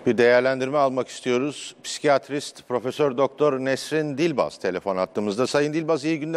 Bir değerlendirme almak istiyoruz. Psikiyatrist Profesör Doktor Nesrin Dilbaz telefon attığımızda. Sayın Dilbaz, iyi günler.